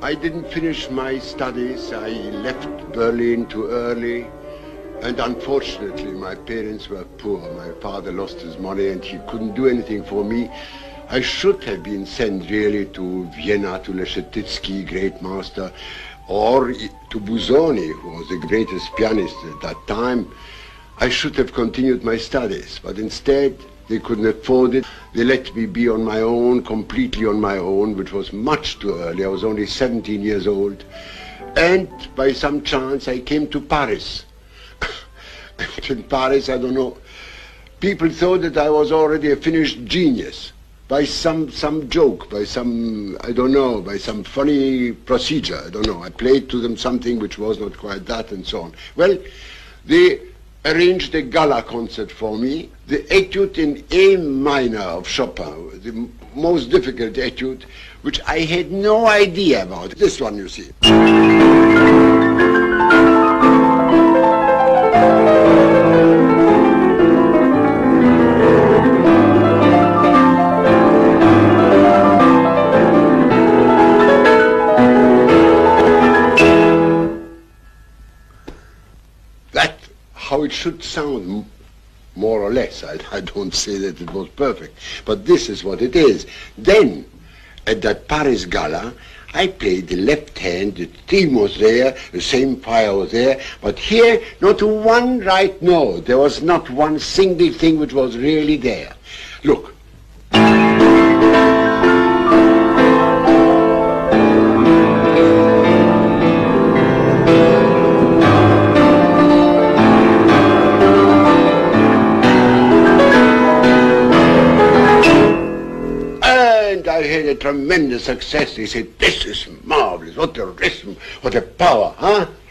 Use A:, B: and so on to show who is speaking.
A: I didn't finish my studies. I left Berlin too early. And unfortunately, my parents were poor. My father lost his money and he couldn't do anything for me. I should have been sent really to Vienna, to Leschetizky, great master, or to Busoni, who was the greatest pianist at that time. I should have continued my studies, but instead they couldn't afford it. They let me be on my own, completely on my own, which was much too early. I was only 17 years old. And by some chance I came to Paris. And in Paris, I don't know, people thought that I was already a finished genius. By some joke, by some, I don't know, by some funny procedure, I don't know. I played to them something which was not quite that and so on. Well, they arranged a gala concert for me. The etude in A minor of Chopin, the most difficult etude, which I had no idea about. This one, you see. How it should sound, more or less. I don't say that it was perfect, but this is what it is. Then, at that Paris Gala, I played the left hand, the theme was there, the same fire was there, but here, not one right note. There was not one single thing which was really there. Look. I had a tremendous success. They said, this is marvelous. What a rhythm, what a power, huh?